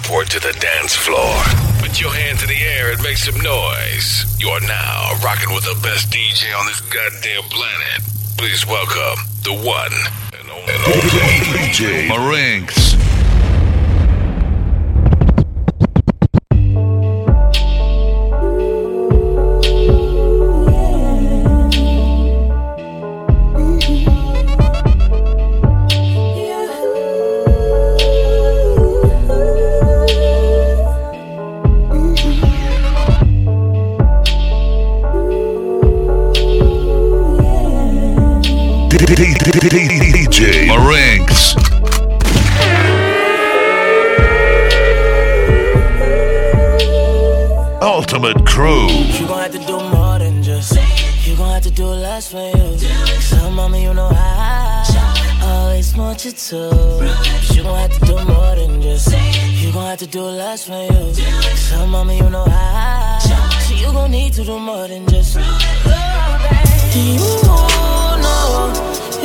report to the dance floor. Put your hands in the air and make some noise. You're now rocking with the best DJ on this goddamn planet. Please welcome the one and only DJ Marinx. DJ Marinx. Ultimate Crew. You gon' have to do more than just. You gon' have to do less for you. So mama, you know I always want you to. You gon' have to do more than just. You gon' have to do less for you. So mama, you know So you gon' need to do more than just. You know.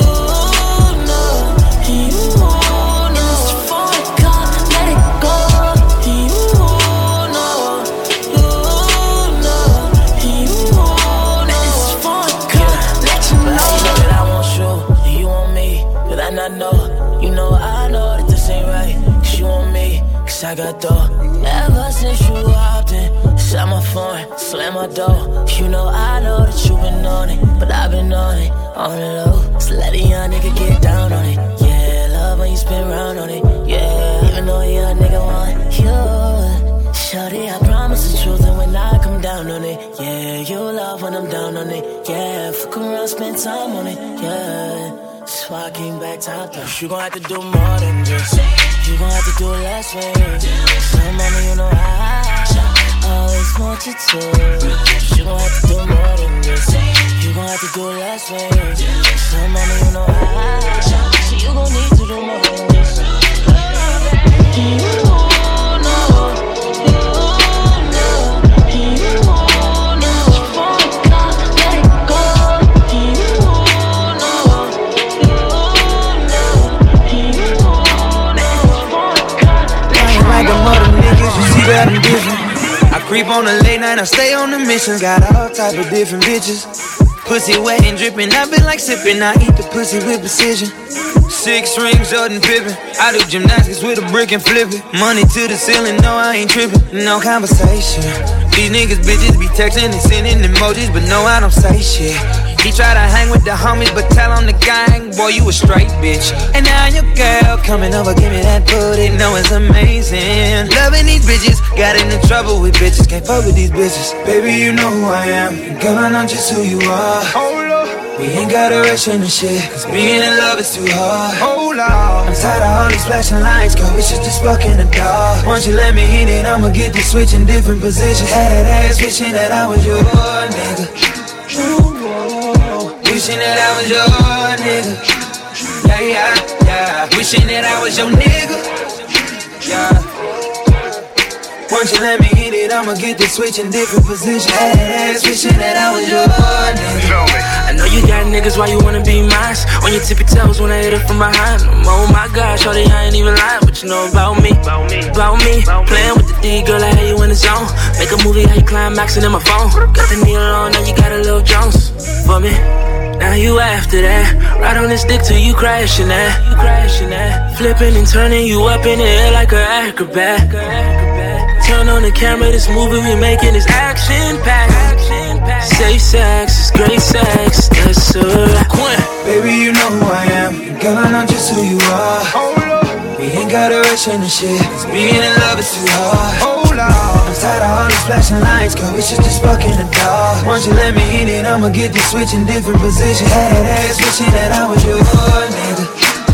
I got dough. Ever since you hopped in, shut my phone, slam my door. You know I know that you been on it, but I've been on it, on the low. So let a young nigga get down on it. Yeah, love when you spin round on it. Yeah, even though a young nigga want you. Shorty, I promise the truth, and when I come down on it, yeah, you love when I'm down on it. Yeah, fuck around, spend time on it. Yeah, so I came back top down. You gon' have to do more than just. You gon' have to do less for you. So mama, you know I always want you to. You gon' have to do more than this. You gon' have to do less for you. So mama, you know So you gon' need to do more than this. You know. I creep on the late night, I stay on the mission. Got all type of different bitches. Pussy wet and dripping, I been like sipping. I eat the pussy with precision. 6 rings, Jordan Pippen. I do gymnastics with a brick and flip it. Money to the ceiling, no I ain't tripping. No conversation. These niggas bitches be texting and sending emojis, but no I don't say shit. He try to hang with the homies, but tell on the gang, boy, you a straight bitch. And now your girl coming over, give me that booty, know it's amazing. Loving these bitches, got into trouble with bitches, can't fuck with these bitches. Baby, you know who I am, and girl, I know just who you are. We ain't gotta rush into shit, cause being in love is too hard. I'm tired of all these flashing lights, girl, we should just walk in the dark. Once you let me in it, I'ma get to switch in different positions. Had that ass wishing that I was your nigga. Wishing that I was your nigga. Yeah. Wishing that I was your nigga. Yeah. Once you let me hit it, I'ma get to switch in different positions. Ass wishing that I was your nigga. I know you got niggas, why you wanna be mine? On your tippy toes when I hit it from behind. Oh my God, shorty, I ain't even lying. But you know about me. Playing with the D, girl, I had you in the zone. Make a movie, how you climaxing in my phone. Got the needle on, now you got a little Jones for me. Now you after that, ride on this dick till you crashing that. Flipping and turning you up in the air like an acrobat. Turn on the camera, this movie we making is action-packed. Safe sex, it's great sex, that's a wrap. Baby, you know who I am, and girl, I know just who you are. We ain't gotta rush into shit, cause being in love is too hard. I'm tired of all these flashing lights, girl, we should just fuck in the dark. Once you let me in it, I'ma get to switch in different positions. Had that ass wishing that I was your nigga.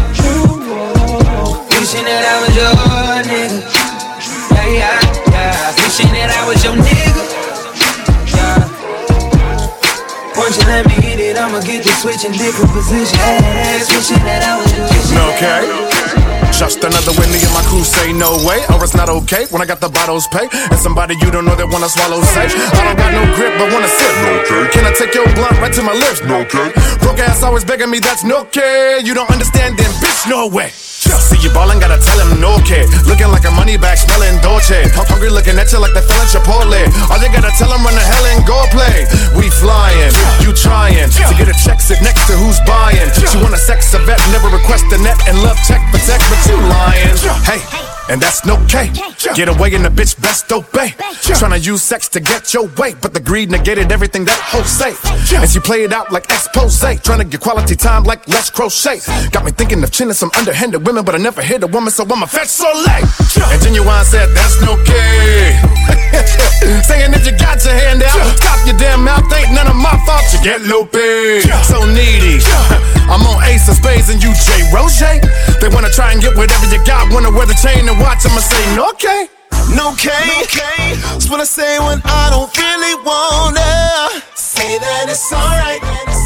Wishing that I was your nigga. Yeah. Wishing that I was your nigga. Yeah. Once you let me in it, I'ma get to switch in different positions. Had that ass wishing that I was your nigga. Okay. Just another Whitney and my crew say no way, or it's not okay when I got the bottles pay. And somebody you don't know that wanna swallow say, I don't got no grip but wanna sip. Okay. Can I take your blunt right to my lips? No, okay. Broke ass always begging me, that's no okay. You don't understand then, bitch, no way. See you ballin', gotta tell him no kid. Looking like a money bag, smelling Dolce. Hungry looking at you like the feeling Chipotle. All you gotta tell him run the hell and go play. We flying, you trying to get a check, sit next to who's buying. She wanna sex a vet, never request a net and love check for tech, but you lying. Hey, and that's no K. Get away and the bitch best obey. Tryna use sex to get your way, but the greed negated everything that hoe say. And she play it out like expose, tryna get quality time like Les Crochet. Got me thinking of chinning some underhanded women, but I never hit a woman, so I'm a fetch Soleil. And Genuine said that's no K. Saying that you got your hand out, stop your damn mouth, ain't none of my fault. You get low pay, so needy. I'm on Ace of Spades and you J. Roche. They wanna try and get whatever you got, wanna wear the chain and watch, I'ma say no K. No K, that's what I say when I don't really wanna. Say that it's alright.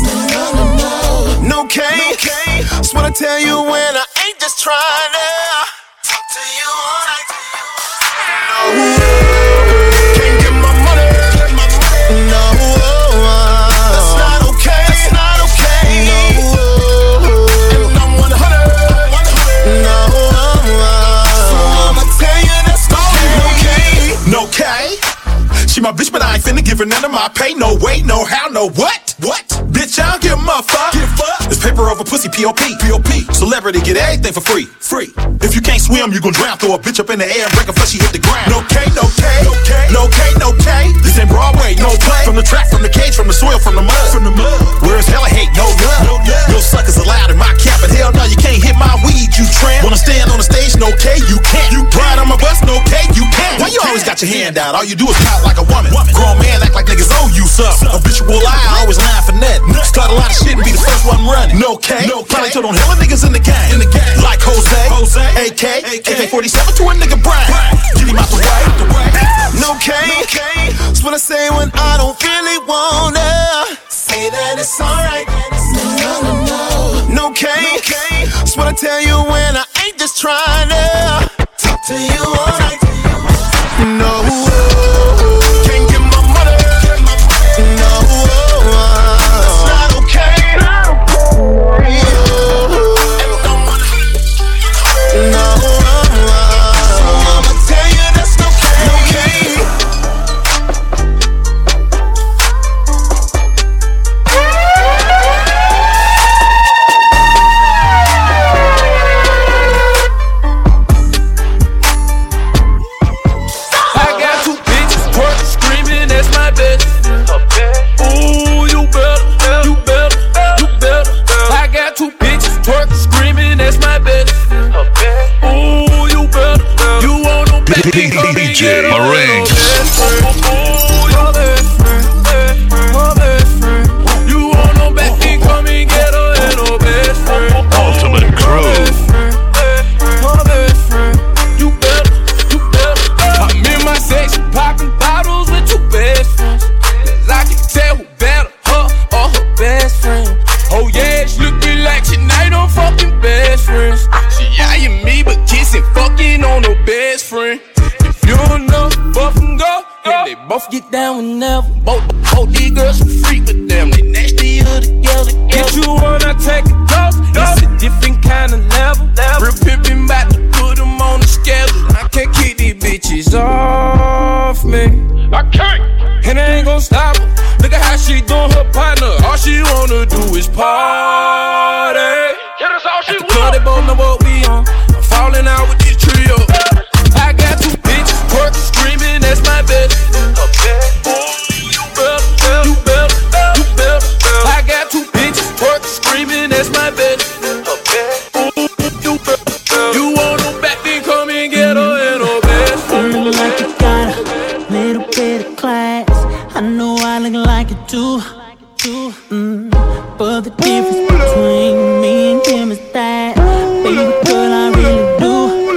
No K, that's what I tell you when I ain't just trying to talk to you all night. No, can't get my money. No, that's not okay. That's not okay. No, and I'm 100. No, so I'ma tell you that's no K. She my bitch, but I ain't finna give her none of my pay. No way, no how, no what? What? Bitch, I don't give a fuck. It's paper over pussy, P.O.P. Celebrity, get everything for free. If you can't swim, you gon' drown. Throw a bitch up in the air and break her before she hit the ground. No K. This ain't Broadway, no play. From the track, from the cage, from the soil, from the mud. Where's hella hate, no love. No suckers allowed in my camp, but hell no, you can't hit my weed, you tramp. Wanna stand on the stage, no K, you can't. You ride on my bus, no K, you can't. Why you always got your hand out? All you do is pout like a woman. Grown man act like niggas owe you something. Habitual lie, I always lie for nothing. Start a lot of shit and be the first one running. No K, probably told on hella niggas in the game. Like Jose, AK, AK-47 to a nigga Brian. Get him out the way. No K, that's what I say when I don't really wanna. Say that it's alright. No K, that's what I tell you when I ain't just trying to talk to you all night. No, can't get my money. No, that's not okay. No, so I'ma tell you that's no K. I got two bitches twerking, screaming, that's my bitch. Ooh, you better. I got two bitches twerking, screaming, that's my bitch. Ooh, you better. You want no back, DJ Marinx. Ooh, your best friend. You want no back, come and get her and no best friend. Ultimate Crew. My best friend. You better. I'm in my section, popping bottles with two best friends. 'Cause I can tell who better, her or her best friend. Oh yeah, she look me like tonight I'm fucking best friends. She eyeing me but kissing, fucking on her best friend. If you don't know, both them go. And they both get down whenever. Both these girls are freak with them. They nastier together. Get you one, I take a dose. It's a different kind of level. Real pimpin' bout to put them on the schedule. I can't keep these bitches off me. I can't. And I ain't gon' stop her. Look at how she doing her partner. All she wanna do is party. Yeah, that's all she wants. They both know what we on. I'm falling out with this trio. I got two bitches twerking, screaming, that's my bitch. Ooh, you better. I got two bitches twerking, screaming, that's my bitch. Ooh, you better. You want no back, then come and get her and her best. Look like you got a little bit of class. I know I look like it too. But the difference between me and him is that, baby girl, I really do.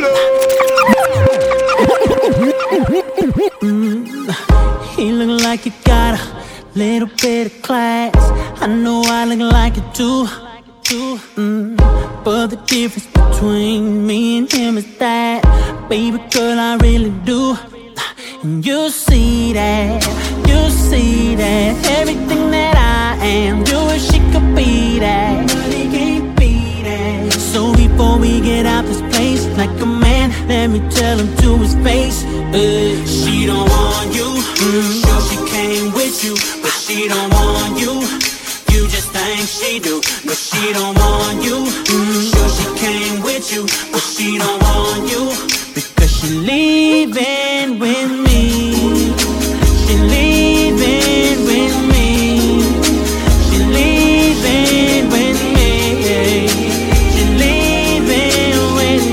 He look like you got a little bit of class. I know I look like it too. But the difference between me and him is that, baby girl, I really do. And you see that, everything that I am, you wish she could be that, but he can't be that. So before we get out this place, like a man, let me tell him to his face, she don't want you. Sure she came with you, but she don't want you. You just think she do, but she don't want you. Sure she came with you, but she don't want you. Because she leaving with me. She leaving with me. She leaving with me. She leaving with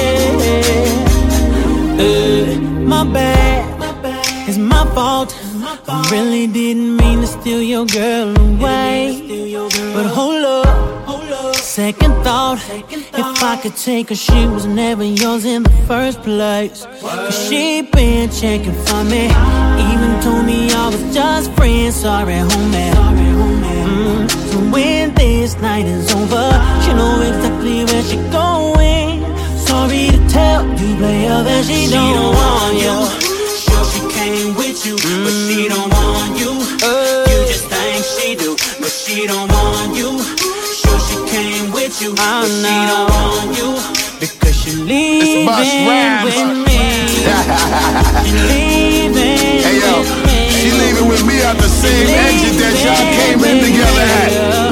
me. My bad, it's my fault. I really didn't mean to steal your girl away. But hold up, second thought. If I could take her, she was never yours in the first place. Cause she been checking for me, even told me I was just friends. Sorry, homie. So when this night is over, she know exactly where she going. Sorry to tell you, player, that she don't want you. She came with you, but she don't want you. You just think she do, but she don't want you. Sure she came with you, but she don't want you. Because she leaving with me. She leaving hey, yo, with me. She leaving with me out the same engine that y'all came in together at.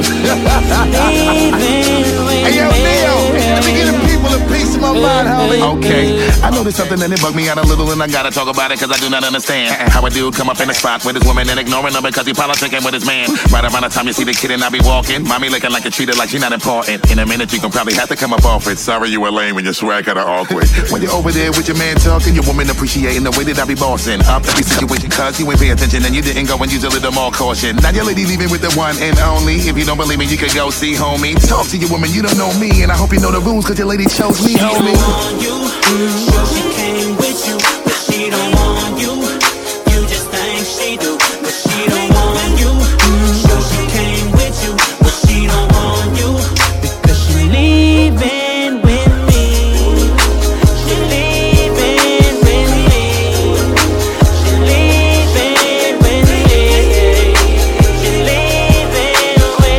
Hey, yo, Neo, let me get the people a piece of my mind, homie. Okay, I know there's something that it bugged me out a little, and I gotta talk about it, cause I do not understand how a dude come up in the spot with his woman and ignoring her because he politicking with his man. Right around the time you see the kid and I be walking, mommy looking like a treated like she not important. In a minute you gon' probably have to come up off it. Sorry you were lame when your swag kinda awkward. When you're over there with your man talking, your woman appreciating the way that I be bossing up every situation cause you ain't pay attention and you didn't go and use a little more caution. Now your lady leaving with the one and only. If you don't believe me, you could go see homie. Talk to your woman, you don't know me, and I hope you know the rules cause your lady chose me, homie. She don't want you, sure she came with you, but she don't want you. You just think she do, but she don't want you. Sure she came with you, but she don't want you. Because she leaving with me. She leaving with me. She leaving with me. She leaving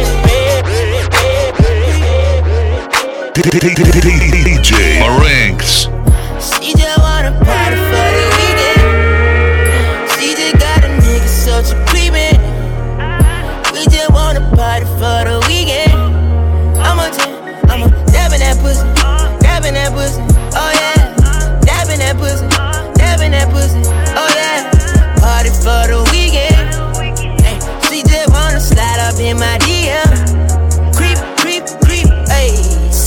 with me. DJ Marinx. She just wanna party for the weekend. She just got a nigga, so she creepin'. We just wanna party for the weekend. I'ma dabbing that pussy, dabbing that pussy, oh yeah. Dabbing that pussy, dabbing that pussy, oh yeah. Party for the weekend. Ay, she just wanna slide up in my DM. Creep, creep, creep, ayy.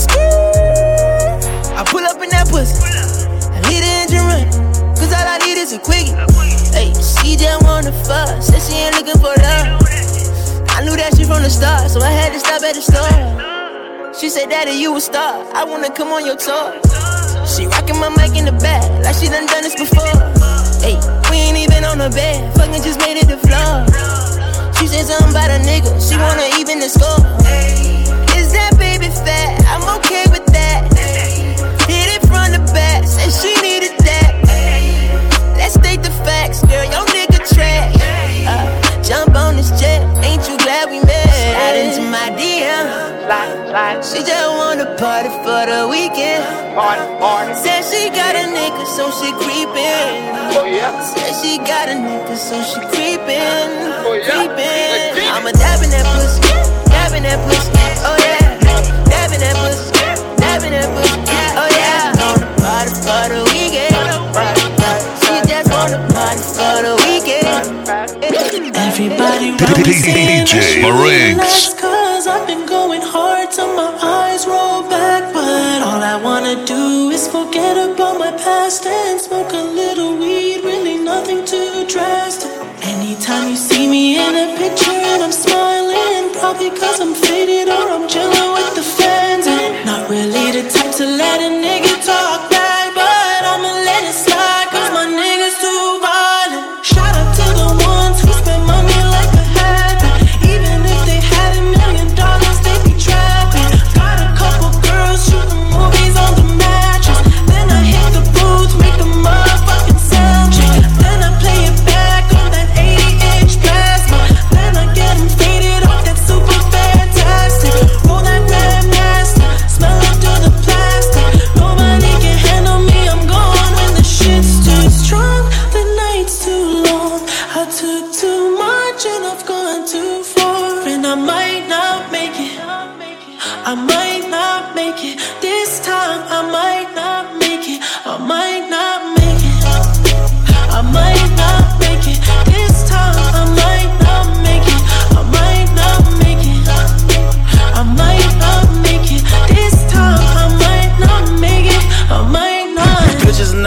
I pull up in that pussy, I leave the engine running, cause all I need is a quickie. Hey, she just wanna fuck, said she ain't looking for love. I knew that shit from the start, so I had to stop at the store. She said, Daddy, you a star, I wanna come on your tour. She rockin' my mic in the back, like she done this before. Hey, we ain't even on the bed, fucking just made it the floor. She said something about a nigga, she wanna even the score. Is that baby fat? I'm okay with that. Hit it from the back, said she needed that. Let's state the facts, girl, your nigga trash. Jump on this jet, ain't you glad we met? Slide into my DM. She just wanna party for the weekend. Said she got a nigga, so she creepin'. Said she got a nigga, so she creepin'. I'ma dabbing that pussy, dabbing that pussy, oh yeah. Dabbing that pussy, dabbing that pussy, oh yeah. Wanna party for the weekend. She just wanna party for the weekend. Everybody around me saying DJ Marinx. cause I've been going hard till my eyes roll back. But all I wanna do is forget about my past and smoke a little weed, really nothing too drastic. Anytime you see me in a picture and I'm smiling, probably cause I'm faded or I'm chilling with the fans. And not really the type to let a nigga talk back, but I'ma let it slide cause my niggas too violent. Shout out to the ones who spend money like a habit. Even if they had $1 million, they be trapping. Got a couple girls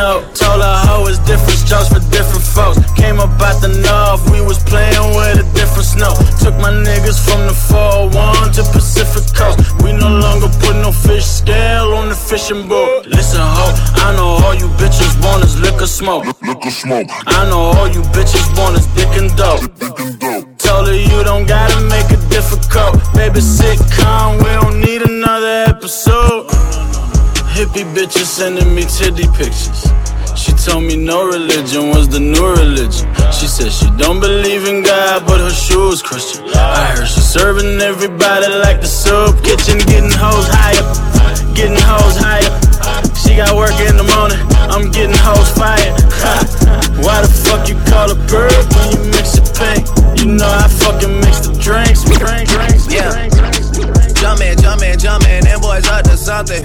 know. Told her hoe it's different strokes for different folks. Came up out the north, we was playing with a different snow. Took my niggas from the 401 to Pacific Coast. We no longer put no fish scale on the fishing boat. Listen, ho, I know all you bitches want is liquor smoke. I know all you bitches want is dick and dope. Told her you don't gotta make it difficult. Baby, sitcom, we don't need another episode. Hippie bitches sending me titty pictures. She told me no religion was the new religion. She said she don't believe in God, but her shoes Christian. I heard she serving everybody like the soup kitchen. Getting hoes higher, getting hoes higher. She got work in the morning, I'm getting hoes fired. Why the fuck you call a bird when you mix it pink? You know I fucking mix the drinks. Yeah. Jumpin', them boys up to something.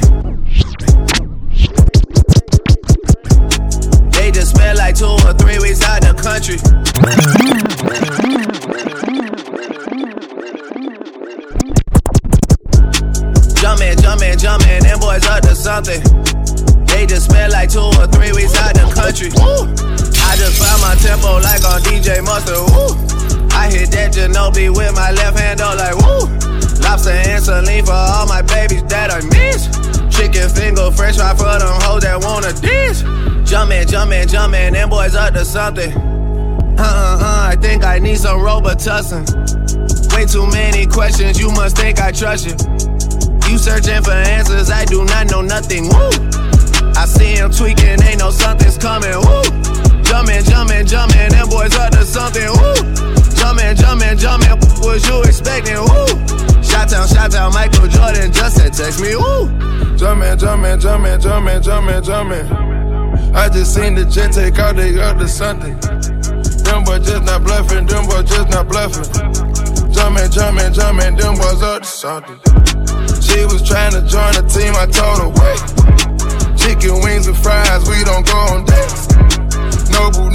They just spent like 2 or 3 weeks out the country. Jumpin', them boys up to something. They just spent like 2 or 3 weeks out the country. I just found my tempo like on DJ Mustard. Woo. I hit that Ginobili with my left hand, though, like woo. Lobster and saline for all my babies that I miss. Chicken finger, fresh fry for them hoes that wanna dish. Jumpin', them boys up to something. I think I need some Robitussin. Way too many questions, you must think I trust you. You searching for answers, I do not know nothing, woo. I see him tweaking, ain't no something's coming, woo. Jumpin', them boys up to something, woo. Jumpin', what you expecting, woo. Shout out, Michael Jordan just said text me, woo. Jumpin'. I just seen the jet take out, they up to something. Them boys just not bluffing, Jumpin', them boys up to something. She was trying to join the team, I told her wait. Chicken wings and fries, we don't go on dates. Nobu.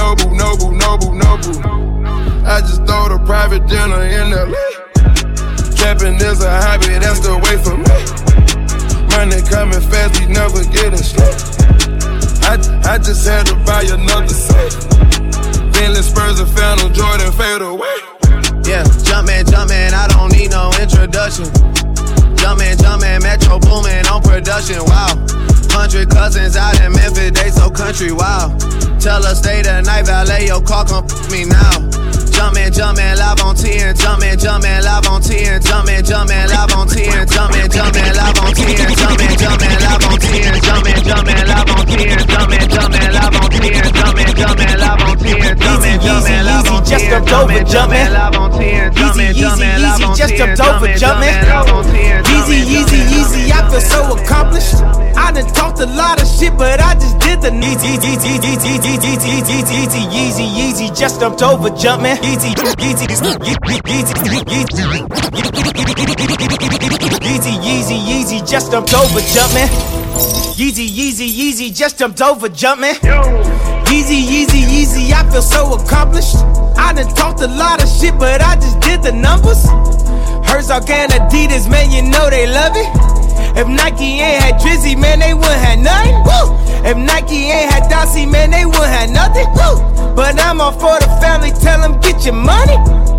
I just throw the private dinner in LA. Trapping is a hobby, that's the way for me. Money coming fast, we never getting slow. I just had to buy another set. Bentley Spurs and Phantom Jordan fade away. Yeah, jumpin', I don't need no introduction. Jumpin', Metro boomin' on production, wow. 100 cousins out in Memphis, they so country, wow. Tell her stay the night, valet your car, come me now. Jumpin', live on 10, jumpin', live on 10, jumpin', live on 10, jumpin', live on 10, jumpin', live on 10, jumpin', live on 10, jumpin', live on 10, jumpin', live on 10, Easy, just jumped over jumpin'. Easy, just jumped over jumpin'. Easy, I feel so accomplished. I done talked a lot of shit, but I just did the easy, just jumped over jumpin'. Easy, just jumped over jumpin'. Easy, just jumped over jumpin'. Easy, I feel so accomplished. I done talked a lot of shit, but I just did the numbers. Herzog and Adidas, man, you know they love it. If Nike ain't had Drizzy, man, they wouldn't have nothing. Woo! If Nike ain't had Dossie, man, they wouldn't have nothing. Woo! But I'm all for the family, tell them get your money.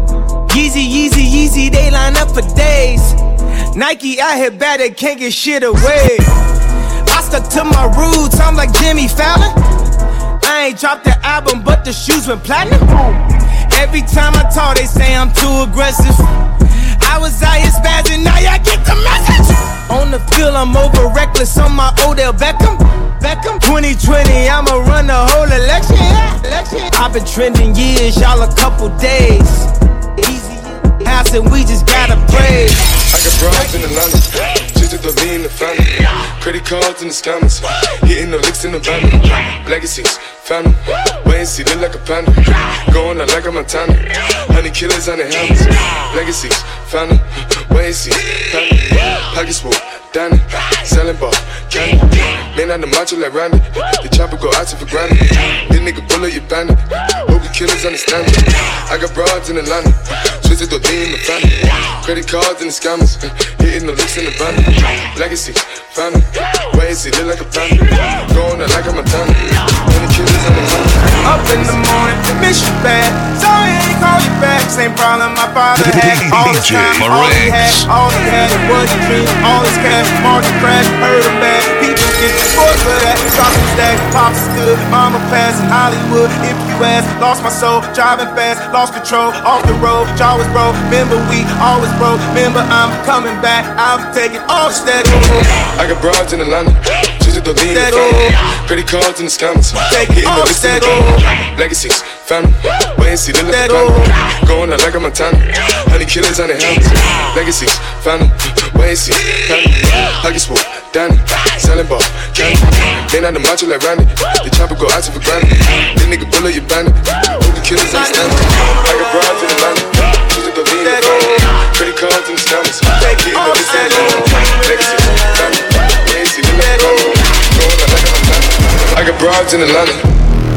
Easy, they line up for days. Nike out here bad, they can't get shit away. I stuck to my roots, I'm like Jimmy Fallon. I ain't dropped the album, but the shoes went platinum. Every time I talk, they say I'm too aggressive. I was out here spazzing, now y'all get the message. On the field, I'm over reckless on my Odell Beckham. 2020, I'ma run the whole election. I've been trending years, y'all a couple days. Easy house and we just gotta pray. I got broads in Atlanta, just to be in the family. Credit cards in the scammers, hitting the licks in the van. Legacies, family, wait and see, look like a panda. Going out like a Montana, honey killers on the helmets. Legacies, family, wait and see, family. Pockets full, Danny, selling ball, candy. Man on the macho like Randy, the chopper go out to for granted. This nigga bullet, you bandit. Hope you killers understand it. I got broads in Atlanta, twisted the D in the family. Credit cards in the scammers, hitting the licks in the van. Legacy, family, wait and see, look like a panda. Going out like a Montana, father had all his time, all he had was a dream, all his cash, market crash, heard him bad. People get spoiled for that. Talking stack, pops is good, mama passed in Hollywood. If you ask, lost my soul, driving fast, lost control, off the road, jaw was broke. Remember we always broke. Remember I'm coming back, I'm taking all that. I got broads in Atlanta, just to lean the family. Credit cards in the scammers, hitting the list in the drama. Legacies, family, wait and see the left family. Going out like a Montana, honey killers on the helmets. Legacies, family, wait and see, family. Pocket swoop, Danny, selling ball, candy. They not the macho like Randy, the chopper go out to for granted. This nigga bullet you bandit, who the killers understand it. I got broads in Atlanta, just to lean the family. Credit cards in the scammers, hitting the list in the drama. Legacies, family, wait and see the left family. Going out like a Montana, I got broads in Atlanta.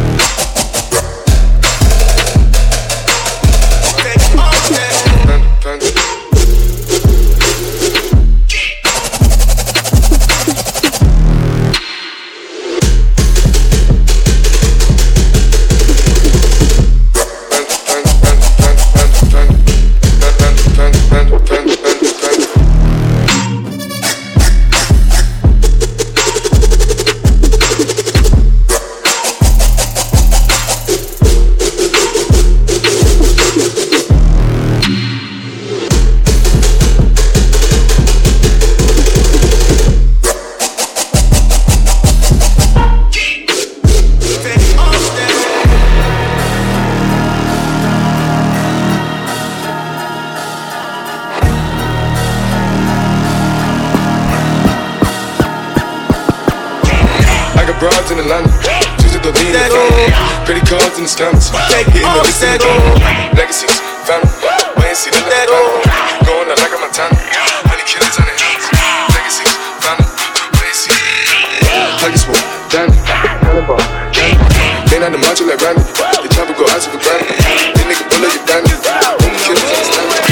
Broads in Atlanta, just to lean the family. Credit cards in the scammers, hitting the list in the drama. Legacies, family, wait and see the left family. Going out like a Montana, honey killers on the hills. Legacies, family, wait and see. Pocket swoop, Danny, selling ball, candy. They not the macho like Randy, the chopper go out to for granted. This nigga bullet you bandit, who the killers understand it.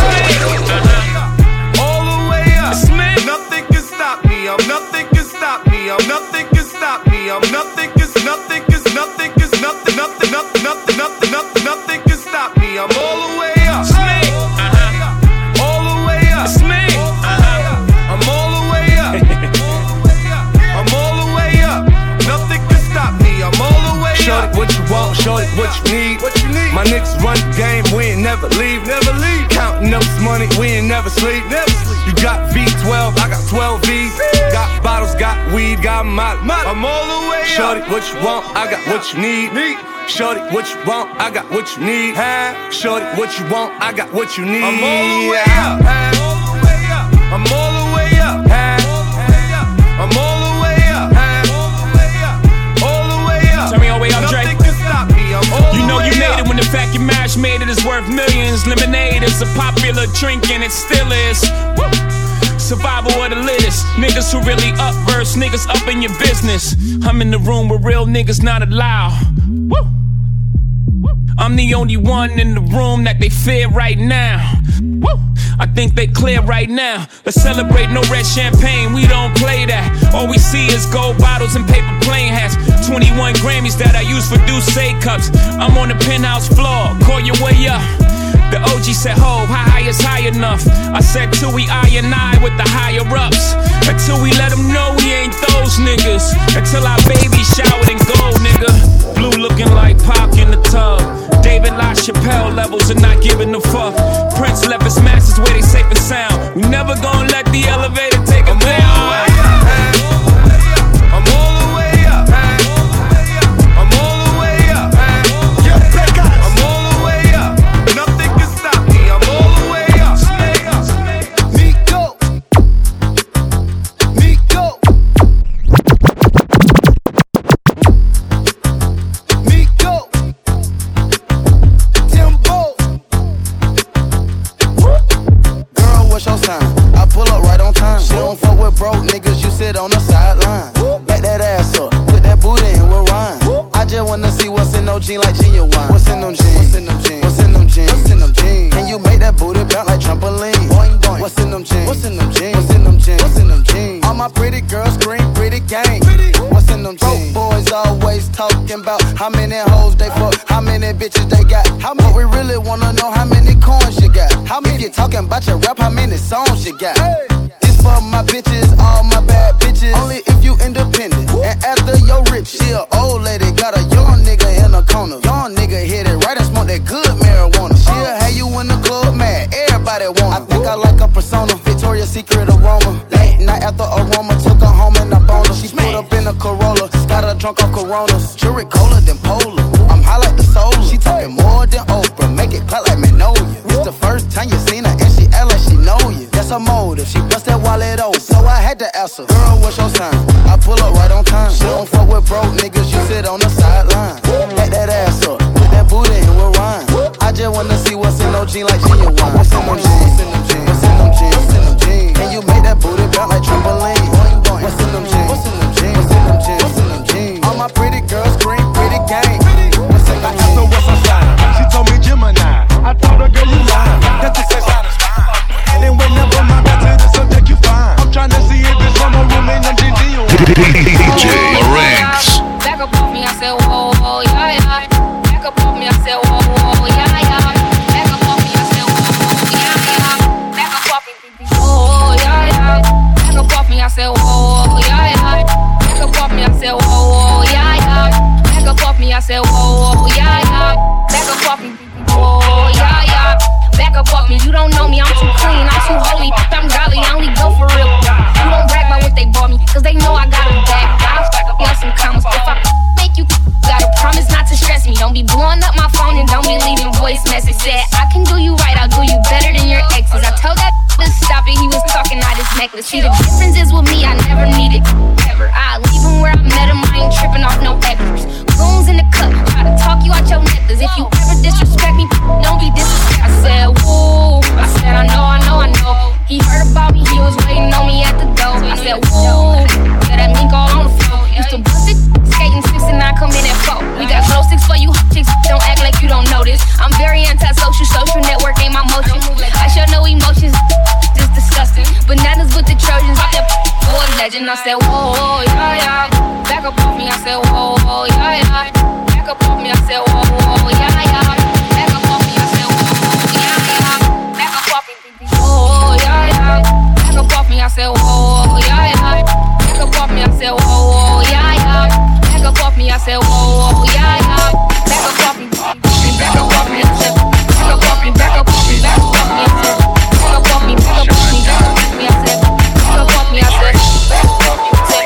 All the way up, nothing can stop me. I'm nothing can stop me. I'm nothing can stop me. I'm nothing can nothing can nothing can nothing nothing nothing nothing nothing nothing nothing can stop me. I'm all the way up. All the way up. I'm all the way up. I'm all the way up. Nothing can stop me. I'm all the way up. Shorty, what you want? Shorty, what you need? What you need? My niggas run the game. We ain't never leave. Never leave. Counting up this money. We ain't never sleep. Never sleep. You got V12. I got 12 V's. Got bottles. Got weed. Got my. I'm all the way up. Shorty, what you want? I got what you need. Shorty, what you want? I got what you need. Shorty, what you want? I got what you need. I'm all the way up. I'm all the way up. I'm all the way up. All the way up. Turn me all the way up, Drake. Nothing can stop me. I'm all You know the way you made up. it when the fact your marriage made it is worth millions. Lemonade is a popular drink and it still is. Woo. Survival of the littest. Niggas who really up verse, niggas up in your business. I'm in the room where real niggas not allowed. Woo. I'm the only one in the room that they fear right now. Woo. I think they clear right now. Let's celebrate, no red champagne, we don't play that. All we see is gold bottles and paper plane hats. 21 Grammys that I use for Douce cups. I'm on the penthouse floor, call your way up. The OG said, ho, how high is high enough? I said, till we I with the higher ups. Until we let them know we ain't those niggas. Until our baby showered in gold, nigga. Blue looking like Pac in the tub. David LaChapelle levels and not giving a fuck. Prince left his masters where they safe and sound. We never gonna let the elevator take him down. On the sideline, back that ass up, put that booty in with Ryan. I just wanna see what's in those jeans like genuine. What's in them jeans? What's in them jeans? What's in them jeans? What's in them jeans? Can you make that booty bounce like trampoline? Boing boing. What's in them jeans? What's in them jeans? What's in them jeans? What's in them jeans? All my pretty girls scream pretty gang. What's in in them jeans? Broke boys always talking about how many hoes they fuck, how many bitches they got. But we really wanna know how many coins you got. How many you talking about your rap, how many songs you got? This for my bitches, all my bad bitches. Only if you independent and after your rich. She a old lady, got a young nigga in the corner. Young nigga hit it right and smoke that good marijuana. She'll have you in the club mad, everybody want. I think I like her persona, Victoria's Secret aroma. Late night after aroma, took her home and I boned her. She put up in a Corolla, got her drunk off Coronas. Jury colder than Polar, I'm high like the soul. She talking more than Oprah, make it clap like Magnolia. It's the first time you seen her and she act like she know you. That's her motive, she bust that wallet open. So I had to ask her, girl, what's your sign? I pull up right on time. She don't fuck with broke niggas, you sit on the sideline. Back that ass up, put that booty in with rhyme. I just wanna see what's in no jeans like genuine. What's in them jeans? What's in them jeans? What's in them jeans? What's in them jeans? Can you make that booty bounce like trampoline? What's in them jeans? What's in them jeans? What's in them jeans? What's in them jeans? All my pretty girls scream pretty gang. What's in them jeans? So what's her sign? She told me Gemini. I told her, girl, you lying. That's the sex out of spine. And then whenever my back to the subject, you fine. I'm trying to see if it's from a room in them jeans. DJ Marinx. Back up off me, I said, whoa, whoa, yeah, yeah. Back up off me, I said, whoa, whoa, yeah, yeah. Back up off me, I said, whoa, whoa, yeah, yeah. Back up off me, whoa, yeah, yeah. Back up off me, I said, whoa, whoa, yeah, yeah. Back up off me, I said, whoa, whoa, yeah, yeah. Back up off me, I said, whoa, whoa, yeah, yeah. Back up off me, whoa, yeah, yeah. Back up off me, you don't know me, I'm too clean, I'm too holy, I'm godly, I only go for real. You don't brag about what they bought me, cause they know I got it back. I'll stack up y'all some commas. If I make you, gotta promise not to stress me. Don't be blowing up my phone and don't be leaving voice message. Said I can do you right, I'll do you better than your exes. I told that to stop it, he was talking out his necklace. See, the difference is with me, I never needed ever. I leave him where I met him, I ain't tripping off no extras. Goons in the cup, try to talk you out your necklace. If you ever disrespect me, don't be disrespect. I said, woo, I said, I know. He heard about me, he was waiting on me at the door. I said, woo, yeah, that mink all on the floor. Used to bust it, skating 6 and 9, come in at 4. We got glow sticks for you chicks, don't act like you don't know this. I'm very antisocial, social network ain't my motion. I show no emotions, just disgusting. Bananas with the Trojans, I said, war legend. I said, whoa, yeah, yeah. Back up off me, I said, whoa, yeah, yeah. Back up off me, I said, whoa, yeah, yeah. Back up off me, I said, whoa, yeah, yeah. Back up off me, whoa, yeah, yeah. Back up off me, I said, whoa, yeah, yeah. Back up off me, I said, whoa, yeah, yeah. Back up off me, I said, whoa, yeah, yeah. Back up off me, back up off me, I said, back up off me, back up off me, back up off me, I said, back up off me, back up off me, back up off me, I said, back up off me, I said, back up off me, I said.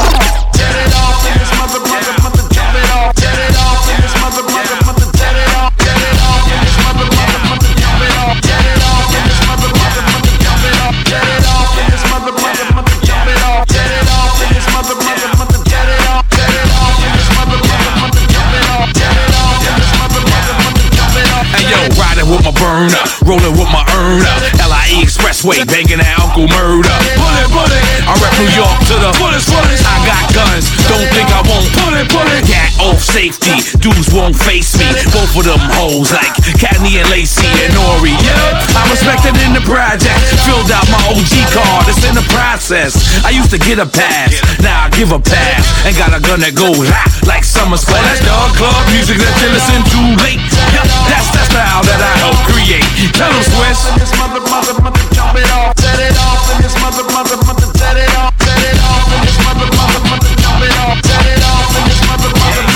Get it off in this mother, jump it off. Get it off in this mother, get it off. Get it off in this mother, jump it off. Get it off in this mother, jump it off. Get it off in this mother, jump it off. Get it off in this mother, get it off. Get it off in this mother, jump it off. Get it off in this mother, jump it off. Hey yo, riding with my burner, rolling with my earner. LIE Expressway, banging that Uncle Murder. Pull it, I rep New York to the fullest. I got guns, don't think I won't pull it. Gat off safety, dudes won't face me. Both of them hoes like Katney and Lacey and Nori. Yeah, I'm respected in the project. Filled out my OG card, it's in the process. I used to get a pass, now I give a pass. And got a gun that goes like summer splash. That's dog club music that you listen to late. Yeah, that's the style that I help create. Tell them Swiss. This mother, jump it off. Set it off in this mother, set it off. Set it off in this mother, jump it off. Set it off in this mother,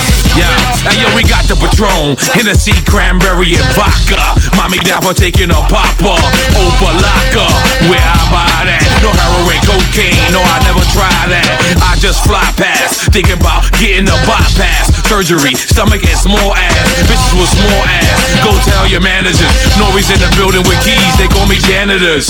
yeah, and yo, we got the Patron, Hennessy, cranberry, and vodka. Mommy down for taking a popper, Opalaka, where I buy that. No heroin, cocaine, no, I never try that. I just fly past, thinking about getting a bypass. Surgery, stomach and small ass, bitches with small ass. Go tell your managers, Nori's in the building with keys, they call me janitors.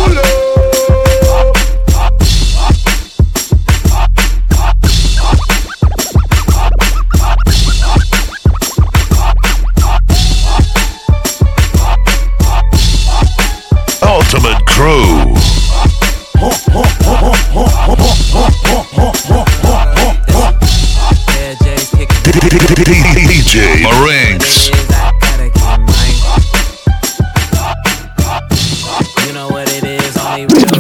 Ultimate Crew. DJ Marinx. You know what it is, only real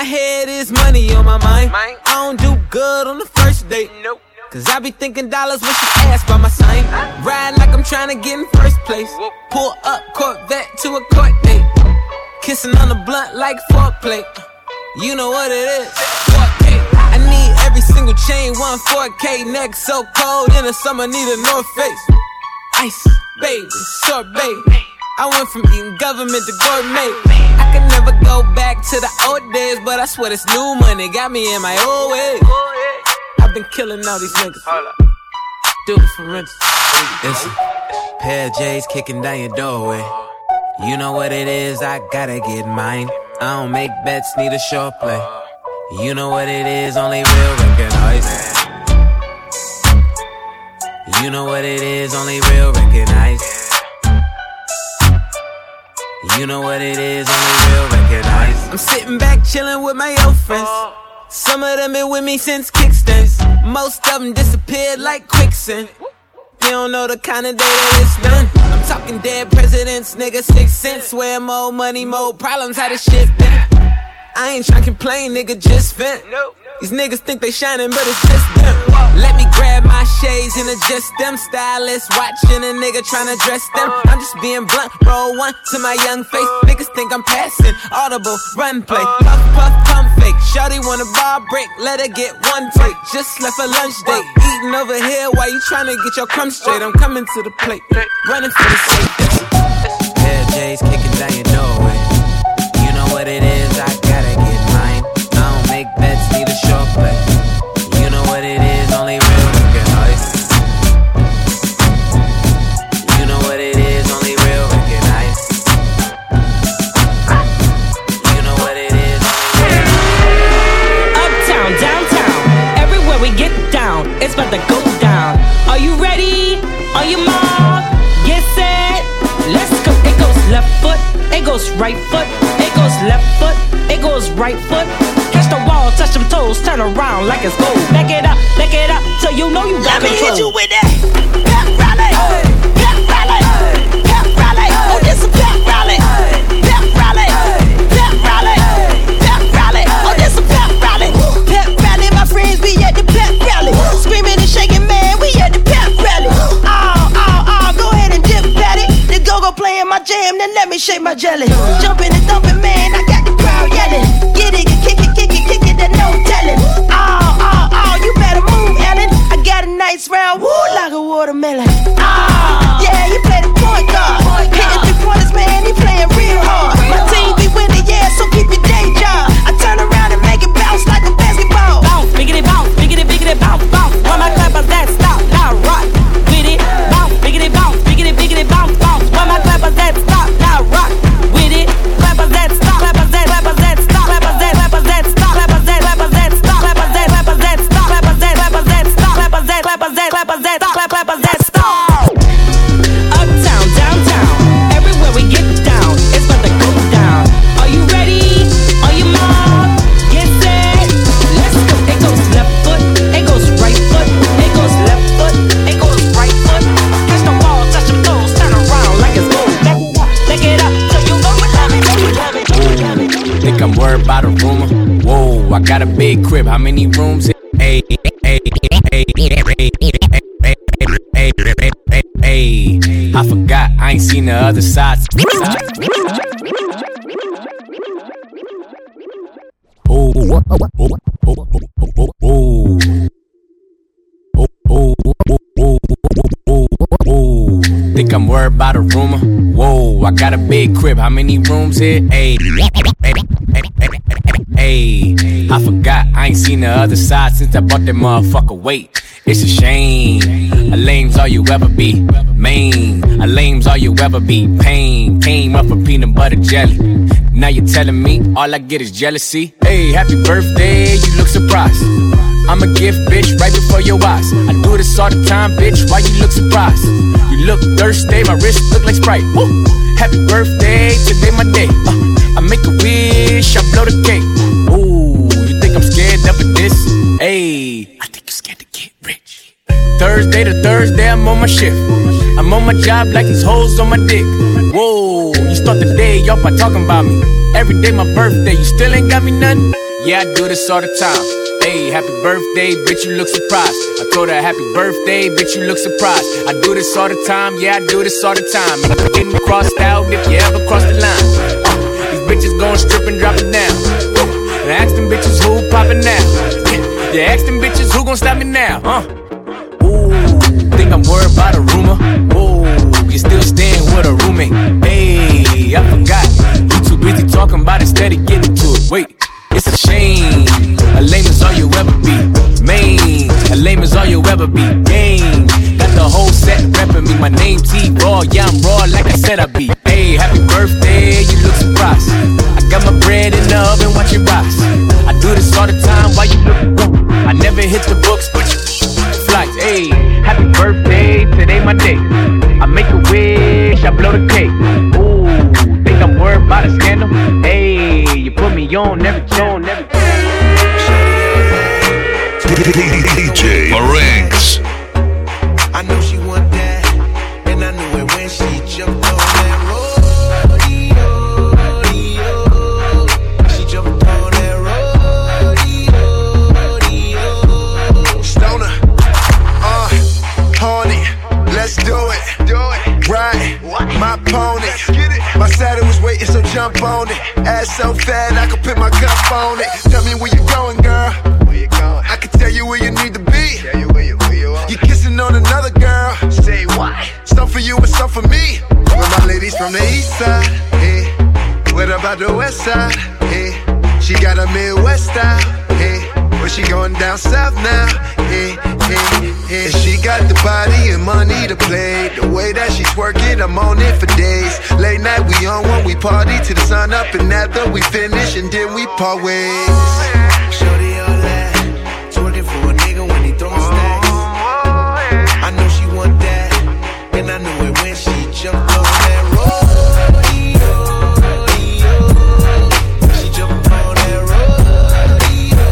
head is money on my mind. I don't do good on the first date. Nope. Cause I be thinking dollars when she ask by my sign. Ride like I'm trying to get in first place. Pull up Corvette to a court date. Kissing on the blunt like foreplay. You know what it is. 4K. I need every single chain, 4K. Neck so cold in the summer, need a North Face. Ice, baby, sorbet. I went from eating government to gourmet. I can never go back to the old days, but I swear this new money got me in my old ways. I've been killing all these niggas. Do it for rent. It's a pair of J's kicking down your doorway. You know what it is, I gotta get mine. I don't make bets, need a short play. You know what it is, only real recognize. You know what it is, only real recognize. You know what it is, only real recognize. I'm sitting back chillin' with my old friends. Some of them been with me since kickstands. Most of them disappeared like quicksand. You don't know the kind of day that it's done. I'm talking dead presidents, nigga, 6 cents. Where more money, more problems, how this shit been. I ain't tryna complain, nigga, just vent. These niggas think they shining, but it's just them. Let me grab my shades and adjust them. Stylists watching a nigga tryna dress them. I'm just being blunt, roll one to my young face. Niggas think I'm passing, audible, run play. Puff, puff, pump fake. Shawty want a bar break, let her get one take. Just left a lunch date, eating over here while you tryna get your crumbs straight. I'm coming to the plate, running for the safe. Pair of J's kicking down your doorway. You know what it is, I gotta get mine. I don't make bets, need a short play. You know what it is, only real recognize. You know what it is, only real recognize. You know what it is, only real. Uptown, downtown, everywhere we get down, it's about to go down. Are you ready? On your mark, get set, let's go. It goes left foot, it goes right foot, it goes left foot, it goes right foot. Catch the wall, touch them toes, turn around like it's gold. Back it up, so you know you got control. Let me hit you with that. Pep rally, pep rally, pep rally. Oh, this a pep rally, pep rally, pep rally, pep rally. Oh, this a pep rally, pep rally. My friends be at the pep rally, screaming and shaking, man. We at the pep rally. Go ahead and dip at it. The go-go playing my jam, then let me shake my jelly. Jumping and thumping, man. I got the crowd yelling. Get it, kick it, there's no telling. You better move, Ellen. I got a nice round, woo, like a watermelon. Yeah, you play the point guard. Hitting 3-pointers, man, he playing real hard. My team be winning, yeah, so keep your day job. I turn around and make it bounce like a basketball. Bounce, biggity, bounce, biggity, biggity, bounce, bounce. When my clappers that stop, now rock with it. Bounce, biggity, bounce, biggity, biggity, bounce, bounce. When my clappers that stop, now rock with it. Clappers that stop, clappers that stop, clappers that stop, clappers that stop, clappers that stop, clappers that stop, clappers that stop, clappers that stop, clappers that stop. Uptown, downtown, everywhere we get down, it's about to go down. Are you ready? On your mark, get set, let's go. It goes left foot, it goes right foot, it goes left foot, it goes right foot. Catch the wall, touch them toes, turn around like it's gold. Back it up, so you know you love it. Think I'm worried about a rumor? Whoa, I got a big crib. How many rooms? Hey, I forgot, I ain't seen the other side. Think I'm worried about a rumor? Whoa, I got a big crib. How many rooms here? Hey, I forgot, I ain't seen the other side since I bought that motherfucker. Wait, it's a shame. A lame's all you ever be. Main, a lame's all you ever be. Pain, came up from peanut butter jelly. Now you're telling me all I get is jealousy. Hey, happy birthday, you look surprised. I'm a gift, bitch, right before your eyes. I do this all the time, bitch, why you look surprised? You look thirsty, my wrist look like Sprite. Woo. Happy birthday, today my day. I make a wish, I blow the cake. Ooh, you think I'm scared of this? Hey, I think you're scared to get rich. Thursday to Thursday, I'm on my shift. I'm on my job like these hoes on my dick. Whoa, you start the day off by talking about me. Every day my birthday, you still ain't got me nothing? yeah, I do this all the time. Hey, happy birthday, bitch, you look surprised. I told her happy birthday, bitch, you look surprised. I do this all the time, yeah, I do this all the time. And I'm getting crossed out if you ever cross the line. These bitches gon' strip and drop it down. And I ask them bitches who poppin' now. Yeah, ask them bitches who gon' stop me now. Ooh, think I'm worried about a rumor. Ooh, you still staying with a roommate. Hey, I forgot. You too busy talking about it, steady getting to it. Wait. It's a shame, a lame is all you ever be. Main, a lame is all you ever be. Game, got the whole set reppin' me. My name T-Raw, yeah, I'm raw like I said I'd be. Hey, happy birthday, you look surprised. I got my bread in the oven, watch it rise. I do this all the time while you look broke. I never hit the books, but you flights. Hey, happy birthday, today my day. I make a wish, I blow the cake. Ooh, think I'm worried about a scandal? Hey, you put me on every tone, every DJ Marinx. I know she want that, and I knew it when she jumped on that rodeo. She jumped on that rodeo. Stoner, horny, let's do it. Ride my pony. My saddle was waiting, so jump on it. Ass so fat, I could put my cup on it. Tell me where you going, girl. Where you going? I can tell you where you need to be. Tell you where you are. You kissing on another girl. Say why? Some for you and some for me. With my ladies from the east side, hey. What about the west side, hey? She got a Midwest style, hey. But she going down south now, hey, hey, hey. She got the body and money to play. The way that she twerk it, I'm on it for days. Late night, we on one, we party till the sun up. And after we finish, and then we part ways. Shorty all that, twerking for a nigga when he throwin' stacks. I know she want that, and I knew it when she jumped on that rodeo. She jumped on that rodeo.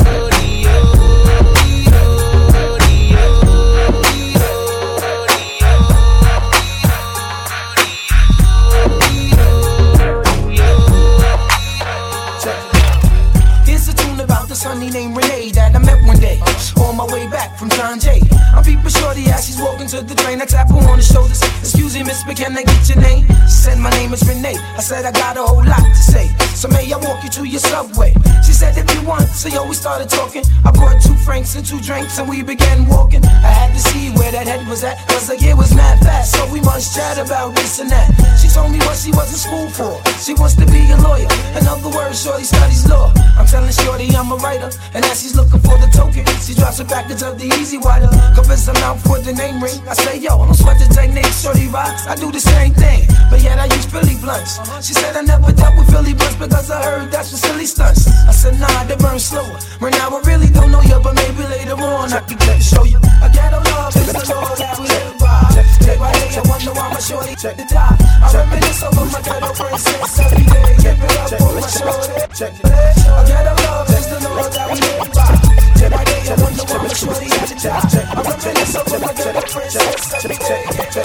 Here's a tune about the sunny named Renee that I met one day on my way back from John Jay. I'm peeping shorty as she's walking to the train. I tap her on the shoulders. Excuse me, miss, but can I get your name? She said my name is Renee. I said I got a whole lot to say. So may I walk you to your subway? She said if you want. So yo, we started talking. I brought 2 francs and 2 drinks and we began walking. I had to see where that head was at, cause like it was mad fast. So we must chat about this and that. She told me what she was in school for. She wants to be a lawyer. In other words, shorty studies law. I'm telling shorty I'm a writer. And as she's looking for the token, she drops a package of the Easy Wider. Covers her mouth with the name ring. I say yo, don't sweat the technique, shorty rocks. I do the same thing, but yet I use Philly blunts. She said I never dealt with Philly blunts because I heard that's for silly stunts. I said nah, they burn slower. Right now I really don't know you, but maybe later on I can get to show you. I get a love, it's the law that we live by. Day by day I wonder why my shorty check the die. I reminisce over my ghetto princess every day. Keep it up for my shorty. Check it. I get a love, it's the law that we live by. Day by day I wonder why my shorty had to die. I reminisce over my ghetto princess every day.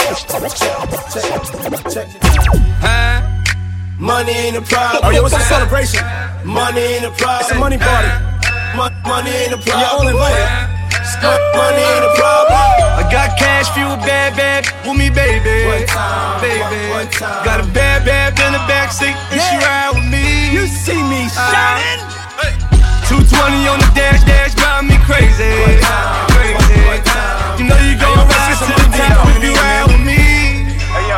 Check it. Money ain't a problem. Oh, yo, what's the celebration? Money ain't a problem. It's a money party. Money ain't a problem. You're all invited. Money ain't a problem. I got cash fuel, bad, with me, baby. One time, baby. one time. Got a bad in the backseat, and she ride with me. You see me shining. 220 on the dash, drive me crazy. One time, crazy. one time. You know you gon' rise to the top if you ride with me.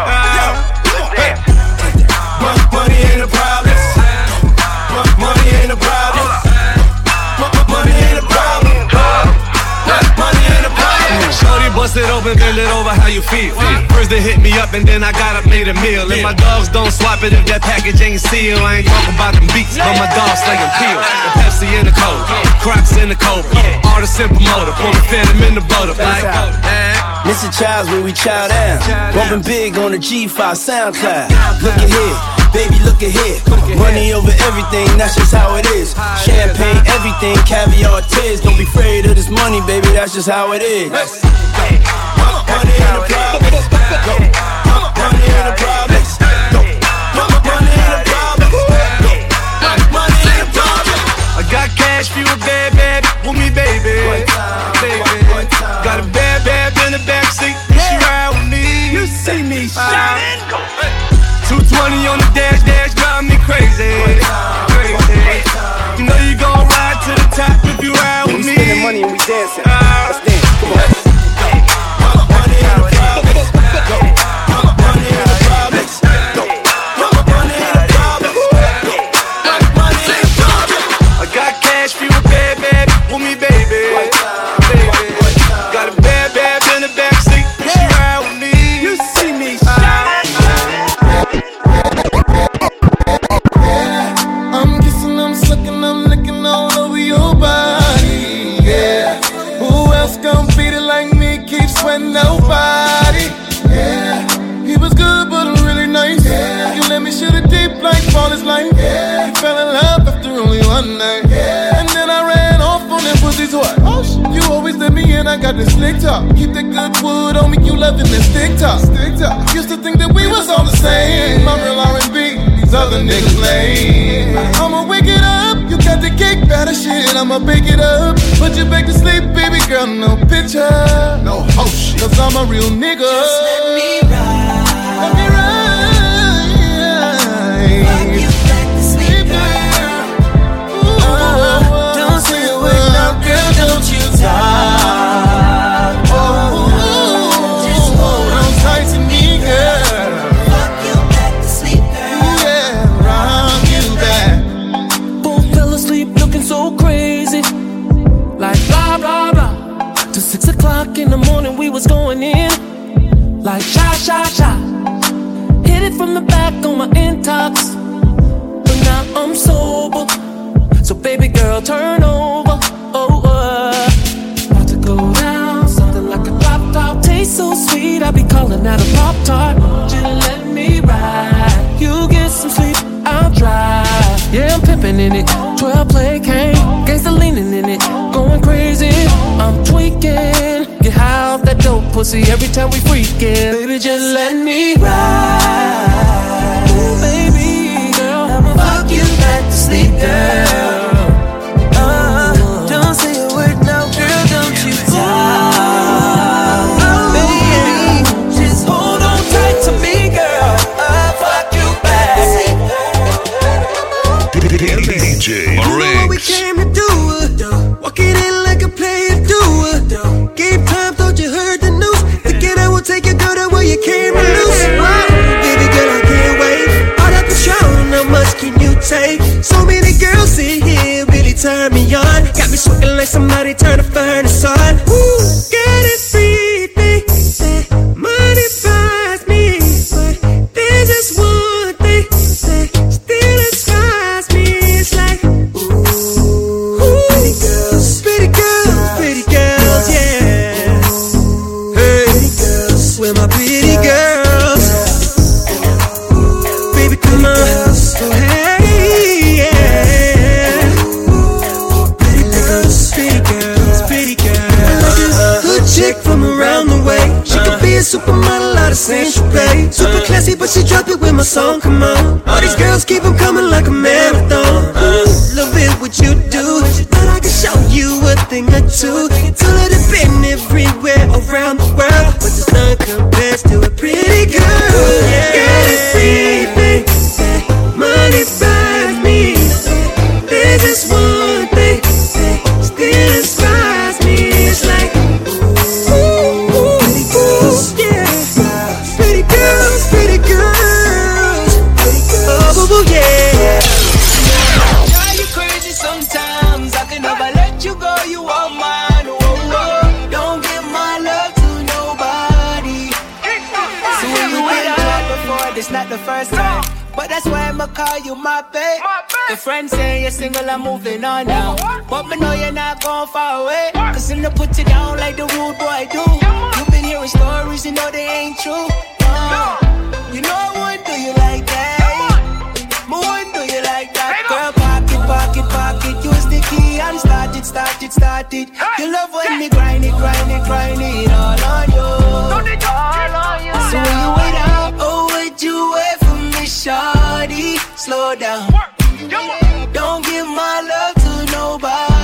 Money ain't a problem. Money ain't a problem. Money ain't a problem. Money ain't a problem. Shorty bust it open, bend it over, how you feel? First they hit me up and then I got up, made a meal. And my dogs don't swap it if that package ain't sealed. I ain't talking about them beats, but my dogs slinging peel. The Pepsi in the cold, Crocs in the cold. All the simple motor, pour the phantom in the butter. Mr. Childs where we chow down. Bumping big on the G5 SoundCloud. Look at here, baby, look at here. Money over everything, that's just how it is. Champagne, everything, caviar, tears. Don't be afraid of this money, baby, that's just how it is. Money ain't a problem. Money ain't a problem. Money ain't a problem. Money ain't a problem. I got cash for you, a bad, bad with me, baby. Got a bad, bad in the backseat. She ride with me. You see me shining. 220 on the dash, drive me crazy. You know you gon' ride to the top if you ride with me. Spending money and we dancing. Let's dance. Come on. Nobody, yeah. He was good, but really nice. Yeah. You let me shoot it deep like all his life. Yeah. He fell in love after only one night. Yeah. And then I ran off on that pussy's what? Oh, you always let me in, I got this slick talk. Keep that good wood on me, you loving that stick talk. Used to think that we was all the same. I'm real R&B, these other niggas lame. I'ma wake it up, you got the cake batter shit, I'ma bake it up. Put you back to sleep, baby girl, no picture. No hoe shit. Cause I'm a real nigga. Just let me ride. Let me ride. Fuck you back to sleep, girl. Don't say a word, no, girl, don't you talk. Just hold on tight to me, girl. Fuck you back to sleep, girl. Yeah, rock you back. Both fell asleep looking so crazy. Like blah, blah, blah. Till 6 o'clock in the morning we was going in. Like sha, sha, sha. Hit it from the back on my intox. But now I'm sober. So baby girl, turn over. Oh, about to go down. Something like a pop top. Tastes so sweet, I be calling that a pop tart. Just let me ride. You get some sleep, I'll drive. Yeah, I'm pimping in it. 12 play cane. Gangsta leaning in it. Going crazy. I'm tweaking. Get high off that dope pussy every time we freaking. Baby, just let me ride. Ooh, baby girl, I'ma fuck you back to sleep, girl. Don't say a word, no, girl, don't you talk. Baby, just hold on tight to me, girl. I'll fuck you back. DJ What we came to do, walking in like a player do. Game time, thought you heard the news. Thinking I will take your girl to where you came to lose. Wow, baby girl, I can't wait. All that Patron, how much can you take? So many girls in here really turn me on. Got me sweating like somebody turned a furnace on. Woo, get it free, money buys me, but there's just one thing that still inspires me. It's like, ooh, pretty girls, yeah. Hey, where my pretty girls? Baby, come on, oh hey, yeah. Pretty girls. Good chick from around the way. She could be a supermodel out of Saint Tropez. Super classy, but she drop it when my song come on. All these girls keep them coming like a marathon. Love it what you do, but I can show you a thing or two. Could have been everywhere around the world, but there's none compares to a pretty girl. Yeah. Girl, it's free, money buys me. There's just one thing that still inspires me. It's like, ooh, pretty girls, yeah. Pretty girls, pretty girls. Oh, yeah. Drive you crazy sometimes. I can never let you go. You are mine. Oh, oh. Don't give my love to nobody. So when you went out before, this not the first time. But that's why I'ma call you my babe. Your friends say you're single, I'm moving on now. But me know you're not going far away. Cause I'm gonna put you down like the rude boy do. You've been hearing stories, you know they ain't true. You know I wouldn't do you like that. I wouldn't do you like that. Girl, pocket, use the key and start it. You love when me grind it all on you. So when you wait up, oh, would you wait for me, shawty? Slow down. Don't give my love to nobody.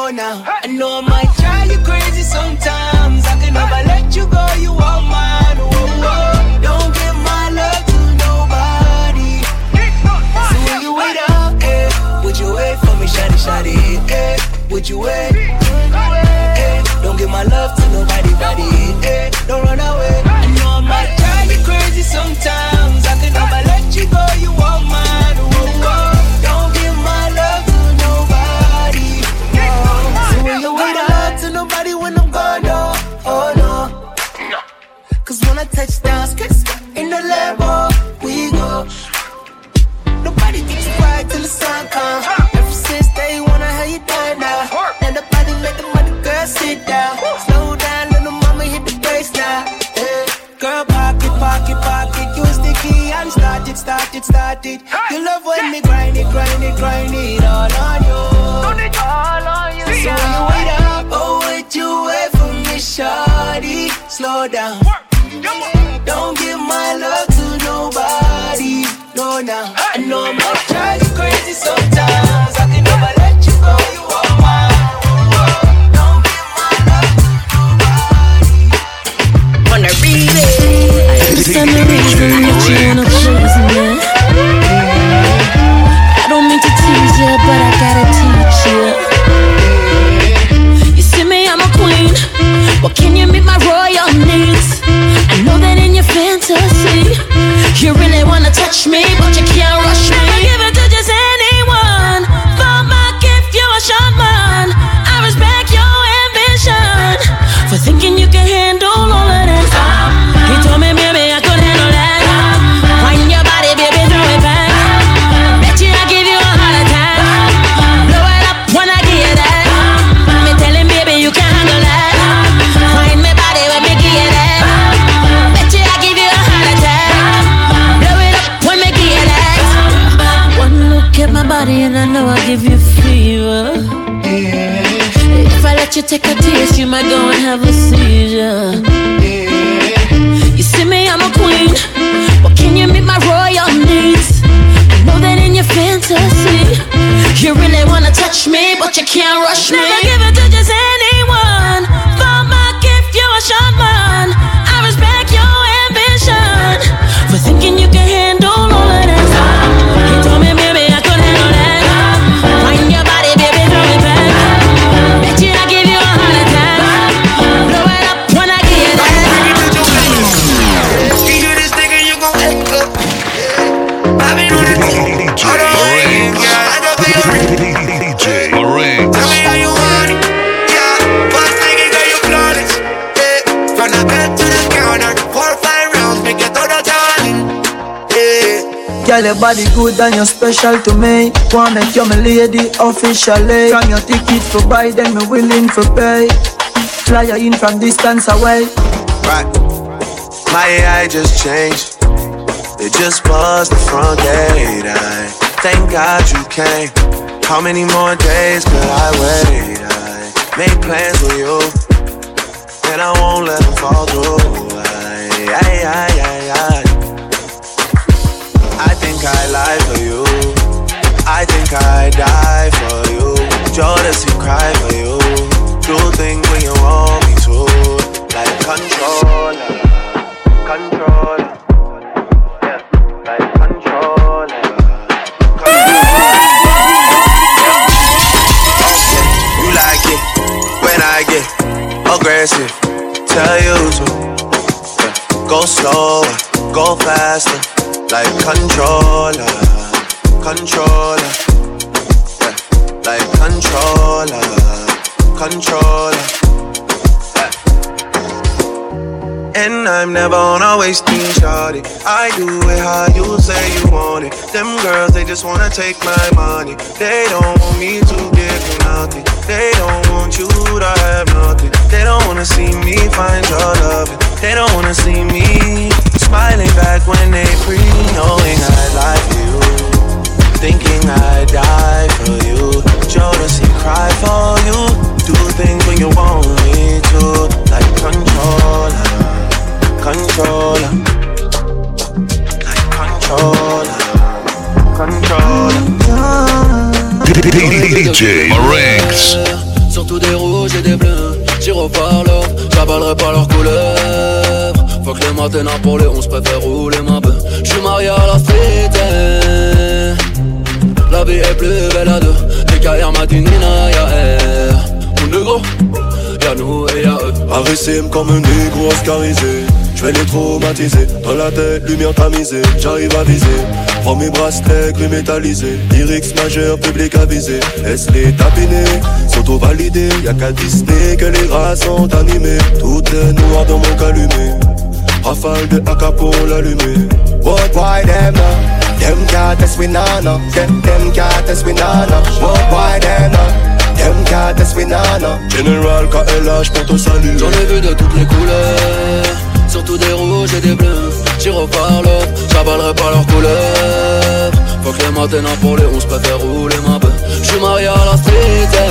No, now I know I might drive you crazy sometimes. I can never let you go, you are mine. Oh, oh. Don't give my love to nobody. So when you wait up, eh, would you wait for me, shawty, shawty, eh? Would you wait? Eh, don't give my love to nobody, buddy, eh? Don't run away. I know I might drive you crazy sometimes. I can never let you go, you are mine. Oh, oh. Don't give my love to nobody. No. So when you wait up to nobody when I'm gone, no, oh no. Cause when I touch down, in the Lambo, we go. Nobody gets you right till the sun comes. Ever since day one, I had you done now. And the body make the mother girl sit down. Slow down, little mama hit the bass now. Hey. Girl, pocket, pocket, pocket. You sticky, I'm started. You love when me grind it all on you. All on you, so when you wait up, oh, would you wait for me, shawty? Slow down. Don't give my love to nobody. No, now I know I might drive you crazy sometimes. I can never let you go. You are mine. Don't give my love to nobody. Wanna read it? I understand the reason that you wanna please me. I don't mean to tease you, but I gotta teach you. You see me, I'm a queen. Well, can you meet my royal needs? I know that in your fantasy you really wanna touch me, but you can't rush me. Never give it to just anyone. For my gift, you're a short man. I respect your ambition for thinking you can handle all of that. He told me, baby, I could handle that. Find your body, baby, throw it back. Bet you I give you a heart attack. Blow it up when I give you that. Me tell him, baby, you can handle that. Find my body when me give you that. Bet you I give you a heart attack. Blow it up when me give you that. One look at my body and I know I give you fever. If I let you take a taste, you might go and have a seizure. You see me, I'm a queen. But can you meet my royal needs? I know that in your fantasy you really wanna touch me, but you can't rush me. Never give it to just anyone. For my gift, you're a short man. I respect your ambition for thinking you can handle all of that. He told me, baby, I could handle that. Find your body, baby, throw it back. Bet you I give you a heart attack. Blow it up when I give you that. Give you this nigga, you gon' wake up. I've been on the team all the way, yeah. I don't feel DJ Marinx. Tell me how you want it, yeah. First nigga, girl, you flawless, yeah. From the bed to the counter, 4 or 5 rounds, make it all the time, yeah. Girl, your body good and you're special to me. Wanna make you my lady officially. From your ticket for buy, then me willing for pay. Fly you in from distance away. Right, my AI just changed. It just buzzed the front gate. I thank God you came. How many more days could I wait? I made plans with you, and I won't let them fall through. I think I lie for you. I think I die for you. Jodeci cry for you. Do things when you want me to. Like controller, controller. Yeah, like controller. You like it when I get aggressive. Tell you to go slower, go faster. Like controller, controller, yeah. Like controller, controller, yeah. And I'm never on a wasting shawty. I do it how you say you want it. Them girls, they just wanna take my money. They don't want me to give you nothing. They don't want you to have nothing. They don't wanna see me find your loving. They don't wanna see me smiling back when they pre, knowing I like you, thinking I die for you. Jodeci cry for you. Do things when you want me to. Like controller, controller, like controller, controller. DJ Marinx. So surtout des rouges et des bleus. Tire par l'or, j'avalerai pas leur couleur. Faut que les matins pour les 11 préfère rouler ma bœuf. J'suis marié à la street, la vie est plus belle à deux. DKR m'a dit Nina, y'a R. Mon négro, y'a nous et y'a eux. Arrêtez-moi comme un négro oscarisé. J'vais les traumatiser, dans la tête, lumière tamisée. J'arrive à viser, prends mes bracelets gris métallisés. Lyrics majeur, public avisé. Laisse-les tapiner, s'auto-valider. Y'a qu'à Disney que les rats sont animés. Tout est noir dans mon calumet. Rafale de AK pour l'allumer. What why them them can't test we nana. Them can't test we nana. What why them them can't test we nana. General KLH pour te saluer. J'en ai vu de toutes les couleurs, surtout des rouges et des bleus. Tire par l'or, j'avalerai pas leur couleur. Faut que les matins pour les 11 préfère rouler ma bœuf. J'suis marié à la street,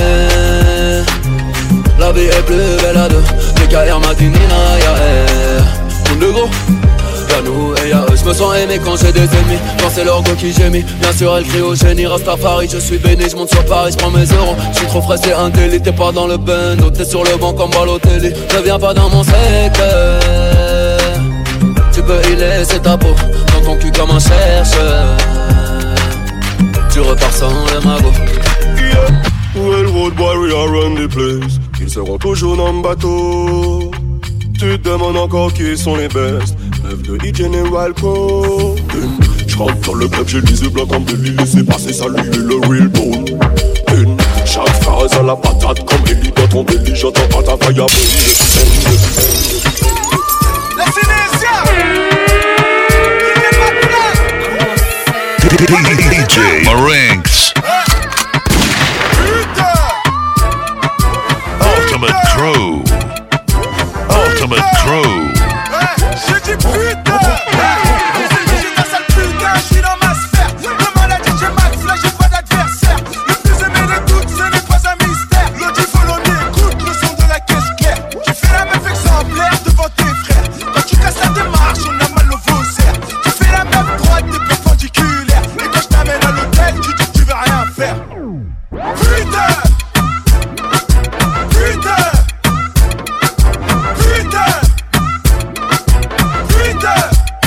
la vie est plus belle à deux. DKR m'a dit Nina, y'a R. Mon négro, y'a nous et y'a eux. J'me sens aimé quand j'ai des ennemis, quand c'est leur go qui gémit. Bien sûr elle crie au génie, Rastafari, je suis béni. J'monte sur Paris, j'prends mes euros. J'suis trop frais, c'est un délit. T'es pas dans le bando, t'es sur le banc comme Balotelli. Ne viens pas dans mon secteur, tu peux y laisser ta peau dans ton cul comme un chercheur. Tu repars sans le magot. Well, road warrior run the place. Ils seront toujours dans le bateau. Tu te demandes encore qui sont les best. Meuf de E-General Co. J'rentre dans le club, j'ai les yeux blancs comme Billy. Laissez passer, saluer le real bone. Chaque phrase à la patate comme Ellie dans ton belly. J'entends pas ta faille à DJ Marinx. Ultimate Crew. Ultimate Crew. J'ai dit putain. J'ai ta sale putain, j'suis dans ma sphère. Demande à DJ Max, là j'ai pas d'adversaire. Le plus aimé de toutes, ce n'est pas un mystère. L'autre Folloné, écoute le son de la caisse claire. Tu fais la meuf exemplaire devant tes frères. Quand tu casses la démarche, on a mal au faussaire. Tu fais la meuf droite, t'es perpendiculaire. Et quand je t'amène à l'hôtel, tu dis que tu veux rien faire. Putain. Putain. Putain. Putain.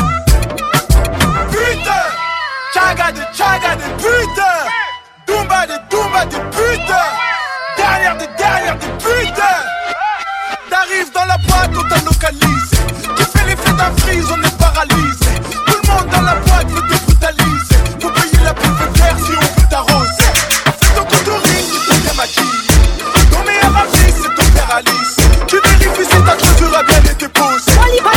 Putain. Chaga de putain. Dumba de putain. Derrière des putain. T'arrives dans la boîte, on t'a localisé. Tu fais l'effet d'un freeze, on est paralysé. Tout le monde dans la boîte veut te brutaliser. Faut payer la pub vert si on veut t'arroser. Fais ton contouring, tu te démaquilles. Ton meilleur ami, c'est ton père Alice. Tu vérifies si ta clôture a bien été posée.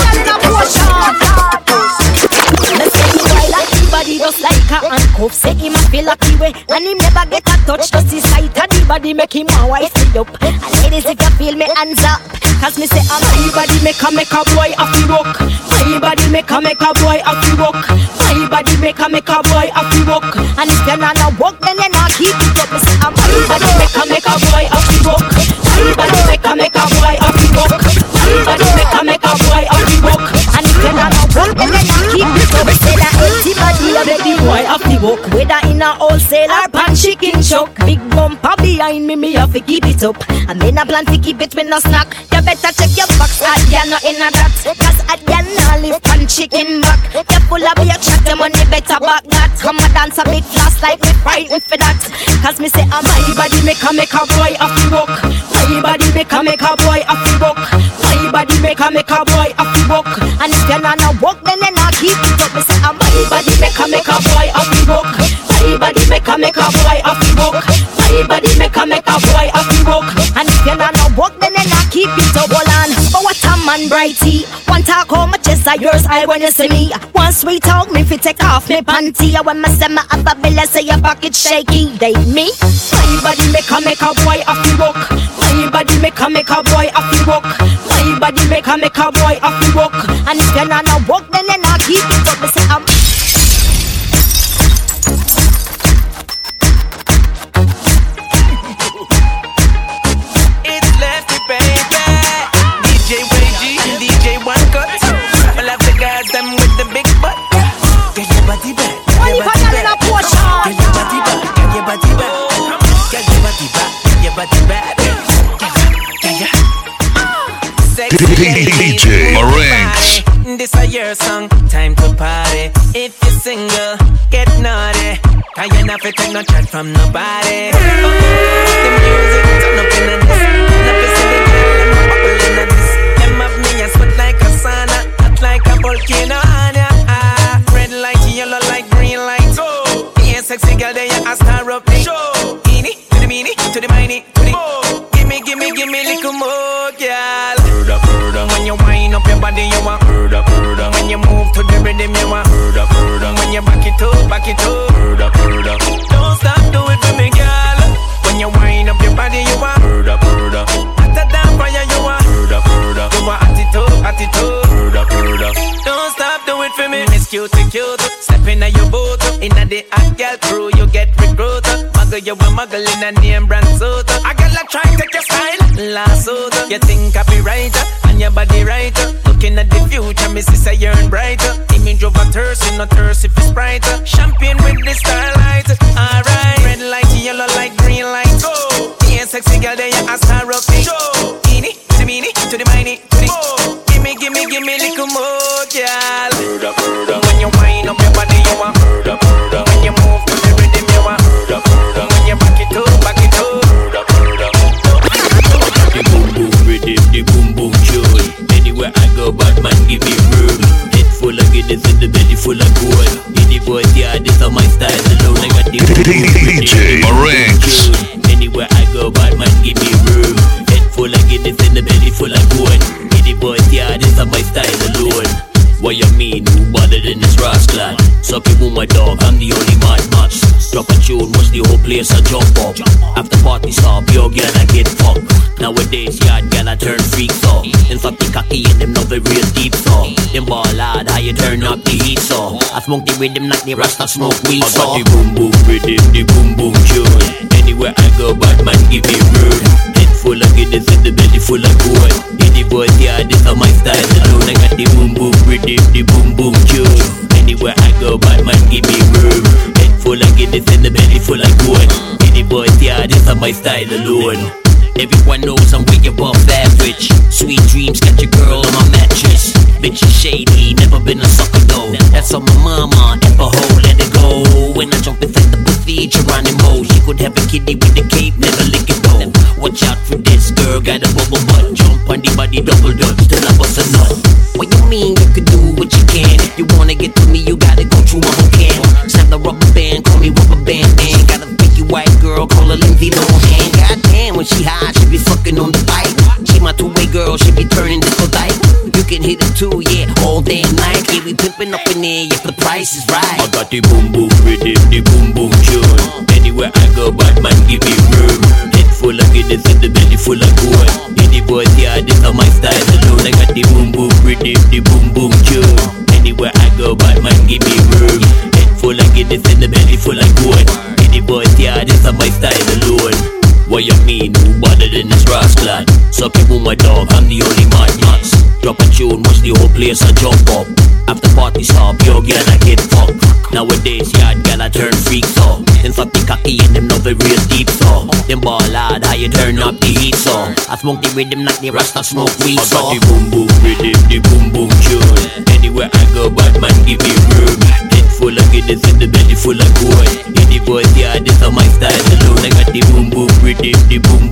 Body just like a handcuff. Say him a feel like he way, and him never get a touch. Just the sight of the body make him a wife it up. And ladies, if you feel me, hands up. Cause me say, my body make a boy a fi rock. My body make a boy a fi rock. My body make a boy a fi rock. And if you're not a walk, then you're not keep it up. Me say, my body make a boy a fi rock. My body make a boy a fi rock. My body make a boy a fi rock. And if you're not a walk, then you're not keep it up. Me say that empty body. Make the boy off the walk. Whether in a wholesale or pan chicken chuck. Big bumper behind me have to keep it up. And me not plan to keep it with no snack. You better check your box, you're not in a that. Cause you're not live pan chicken back. You're full of your chat, the money better back that. Come and dance a big flash like me frightened for that. Cause me say, my body make a boy off the walk. My body make a boy off the walk. My body make a boy off the walk. And if you're not a walk, then you're not keep it up. Me say, my body make a boy off the walk. My body make a boy off the walk. My body make a boy off the walk. And if you're not a walk, then you're not keep it up. Hold on, but what a man brighty. One talk how my chest are yours, I when you see me. One sweet talk me fi take off me panty. When me say me have a bill, say your pocket shaky. They me. My body make a boy off the walk. My body make a boy off the walk. My body make a boy off the walk. And if you're not a walk, then you're not keep it up. Me say I'm. sexy DJ Marinx. This a your song, time to party. If you're single, get naughty. Cause you not fit take no chat from nobody. The music turn up in a this. Not to see the girl and my bubble in a this. Them up me and sweat like a sauna, hot like a volcano. Red light, yellow light, green light. Go. Yeah, sexy girl, there you a star up me. Show. Eeny, to the meeny, to the miny, to the. Give me little more, girl. When you wind up your body, you want. When you move to the rhythm, you want. When you back it up. Don't stop, do it for me, girl. When you wind up your body, you want. Hotter than fire, you want. You want attitude. Don't stop, do it for me. Miss cute. Step in your boat. In the hot girl crew, you get recruited. Muggle, you a muggle in a name brand suit. I got like try take your style. Last suit. You think copywriter and your body writer. Looking at the future, me sister yearn brighter. Image of a thirst, no thirst if it's brighter. Champagne with the starlight. Alright, red light, yellow light, green light. Go. Yeah, sexy girl, there you a star of me. Show. Eeny, to the meeny, to the miny, to the. Give me little more, girl. When you wind up your body, you want. When you move to the rhythm, you want. When you back it up. The boom boom rhythm, the boom boom tune. Anywhere I go, bad man give me room. Head full of goodness and the belly full of gold. In the boys, yeah, this is my style alone. I got the DJ Marinx. Anywhere I go, bad man give me room. Head full of goodness and the belly full of gold. In the boys, yeah, this is my style alone. What you mean, who better than this rascal? Suck it with my dog, I'm the only mad match. Drop a tune, watch the whole place a jump up. After party stop, yo girl I get fucked. Nowadays, yard girl I turn freaks up. In fact, the cocky and them know the real deep so. Them ball hard, how you turn up the heat so. I smoke the rhythm like the Rasta smoke weed so. I got the boom boom rhythm, the boom boom tune. Anywhere I go, bad man give me room. Head full of goodness and the belly full of gold. In the boys, yeah, this is my style alone. I got the boom boom rhythm, the boom boom tune. Anywhere I go, bad man give me room. Head full of goodness and the belly full of gold. In the boys, yeah, this is my style alone. Everyone knows I'm way above average. Sweet dreams, catch a girl on my mattress. Bitch is shady, never been a sucker though. That's on my mama, ever hold, let it go. When I jump inside the pussy, Geronimo. She could have a kitty with the cape, never lick it though. Watch out for this girl, got a bubble butt. Jump on the body, double dutch, till I bust a nut. What you mean you can do what you can? If you wanna get to me, you gotta go through my whole can. Snap the rubber band, call me rubber band man. Got a picky white girl, call her Lindsay Lohan. Goddamn, when she high, she be fucking on the bike. She my two-way girl, she be turning this for life. You can hit it too, yeah, all day and night. Yeah, we pimping up in there if the price is right. I got the boom boom rhythm, the boom boom tune. Anywhere I go, bad man give me room. Head full of goodness and the belly full of gold. In the boys, yeah, this is my style alone. I got the boom boom rhythm, the boom boom tune. Anywhere I go, bad man give me room. Head full of goodness and the belly full of gold. In the boys, yeah, this is my style alone. What you mean, who better than this rascal? Suck it with my dog, I'm the only mad max. Drop a tune, watch the whole place a jump up. After party stop, yo girl I get fucked. Nowadays, yard girl I turn freaks up. In fact, the cocky and them know the real deep so. Them ball hard, how you turn up the heat so. I smoke the rhythm like the Rasta smoke weed so. I got the boom boom rhythm, the boom boom tune. Anywhere I go, bad man give me room. Head full of goodness and the belly full of gold. In the boys, yeah, this is my style alone. I got the boom boom rhythm, the boom